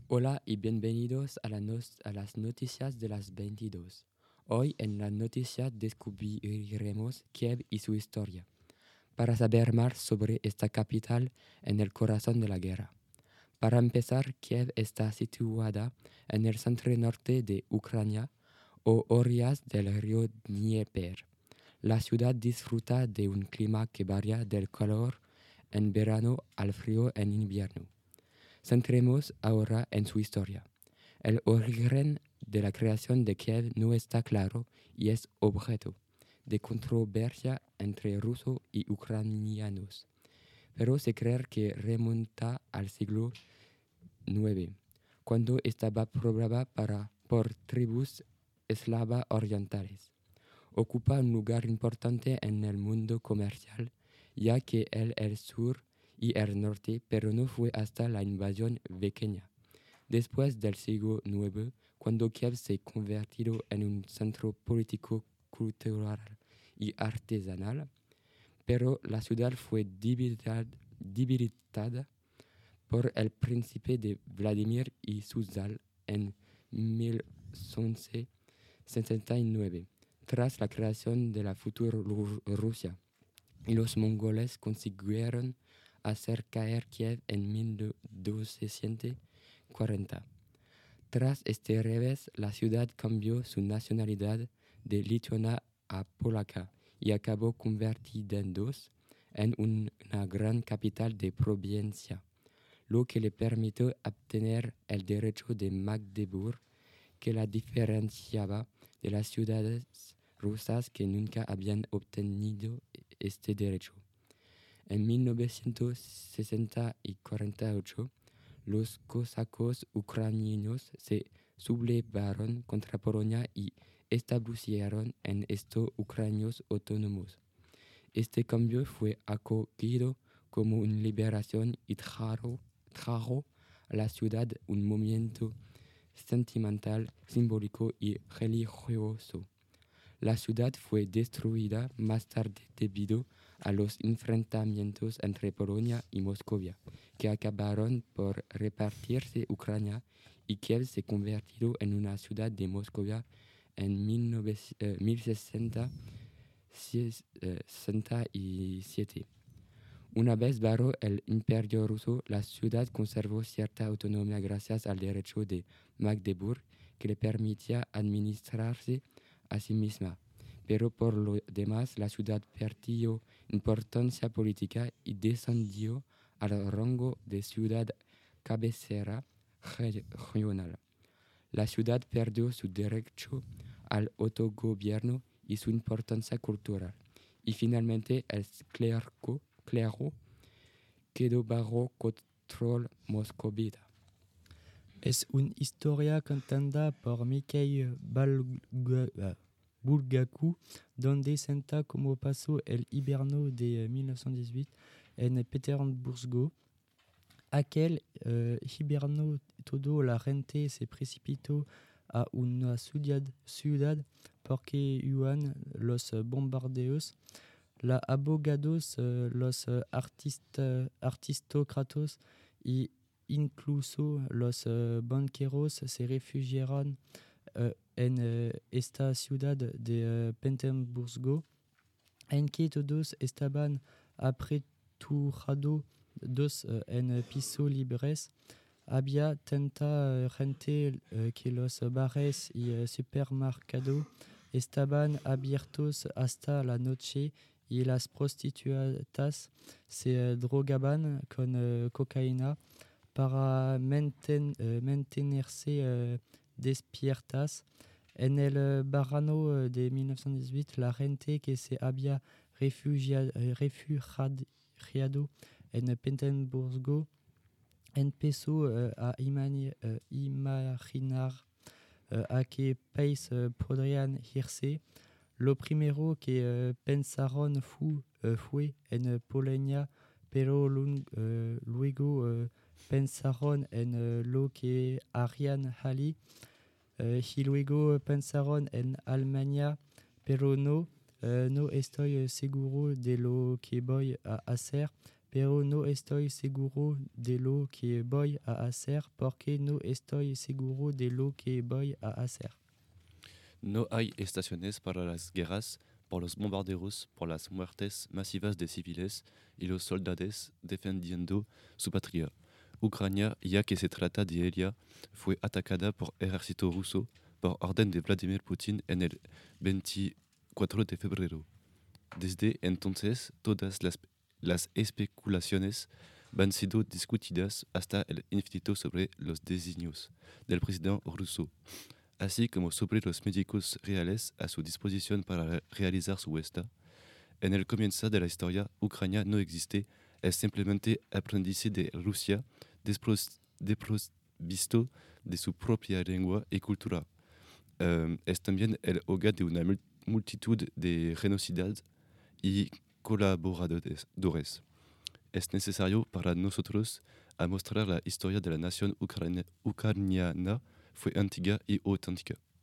Hola y bienvenidos a las noticias de las 22. Hoy en la noticia descubriremos Kiev y su historia, para saber más sobre esta capital en el corazón de la guerra. Para empezar, Kiev está situada en el centro norte de Ucrania o orillas del río Dnieper. La ciudad disfruta de un clima que varía del calor en verano al frío en invierno. Centremos ahora en su historia. El origen de la creación de Kiev no está claro y es objeto de controversia entre rusos y ucranianos, pero se cree que remonta al siglo IX, cuando estaba poblada por tribus eslavas orientales. Ocupa un lugar importante en el mundo comercial, ya que el sur y el norte, pero no fue hasta la invasión vikingana. Después del siglo IX, cuando Kiev se convirtió en un centro político, cultural y artesanal, pero la ciudad fue debilitada por el príncipe de Vladimir y Suzdal en 1169, tras la creación de la futura Rusia, y los mongoles consiguieron hacer caer Kiev en 1240. Tras este revés, la ciudad cambió su nacionalidad de lituana a polaca y acabó convirtiéndose en una gran capital de provincia, lo que le permitió obtener el derecho de Magdeburgo, que la diferenciaba de las ciudades rusas que nunca habían obtenido este derecho. En 1960 y 48, los cosacos ucranianos se sublevaron contra Polonia y establecieron en estos ucranianos autónomos. Este cambio fue acogido como una liberación y trajo a la ciudad un movimiento sentimental, simbólico y religioso. La ciudad fue destruida más tarde debido a los enfrentamientos entre Polonia y Moscovia, que acabaron por repartirse Ucrania, y Kiev se convirtió en una ciudad de Moscovia en 1067. Una vez bajo el Imperio ruso, la ciudad conservó cierta autonomía gracias al derecho de Magdeburgo, que le permitía administrarse a sí misma. Pero por lo demás, la ciudad perdió importancia política y descendió al rango de ciudad cabecera regional. La ciudad perdió su derecho al autogobierno y su importancia cultural. Y finalmente el clero quedó bajo control moscovita. Es una historia contada por Mikhail Bulgakov, donde cuenta cómo pasó el invierno de 1918 en Petersburgo. Aquel invierno toda la gente se precipitó a una ciudad porque hubo los bombardeos. Los abogados, los aristócratas y incluso los banqueros se refugiaron en esta ciudad de Petersburgo, en que todos estaban apresurados en pisos libres. Había tanta gente que los bares y supermercados estaban abiertos hasta la noche y las prostitutas se drogaban con cocaína para mantenerse despiertas. En el verano de 1918, la gente que se había refugiado en Petersburgo empezó a imaginar a qué país podrían irse. Lo primero que pensaron fue en Polonia, pero luego pensaron en lo que harían allí, y luego pensaron en Alemania, pero no estoy seguro de lo que voy a hacer, pero no estoy seguro de lo que voy a hacer porque no estoy seguro de lo que voy a hacer. No hay estaciones para las guerras, por los bombarderos, por las muertes masivas de civiles y los soldados defendiendo su patria. Ucrania, ya que se trata de ella, fue atacada por ejército ruso por orden de Vladimir Putin en el 24 de febrero. Desde entonces, todas las especulaciones han sido discutidas hasta el infinito sobre los designios del presidente ruso, así como sobre los médicos reales a su disposición para realizar su gesta. En el comienzo de la historia, Ucrania no existe, es simplemente aprendiz de Rusia, desprovisto de su propia lengua y cultura. Es también el hogar de una multitud de genocidas y colaboradores. Es necesario para nosotros a mostrar la historia de la nación ucraniana fue antigua y auténtica.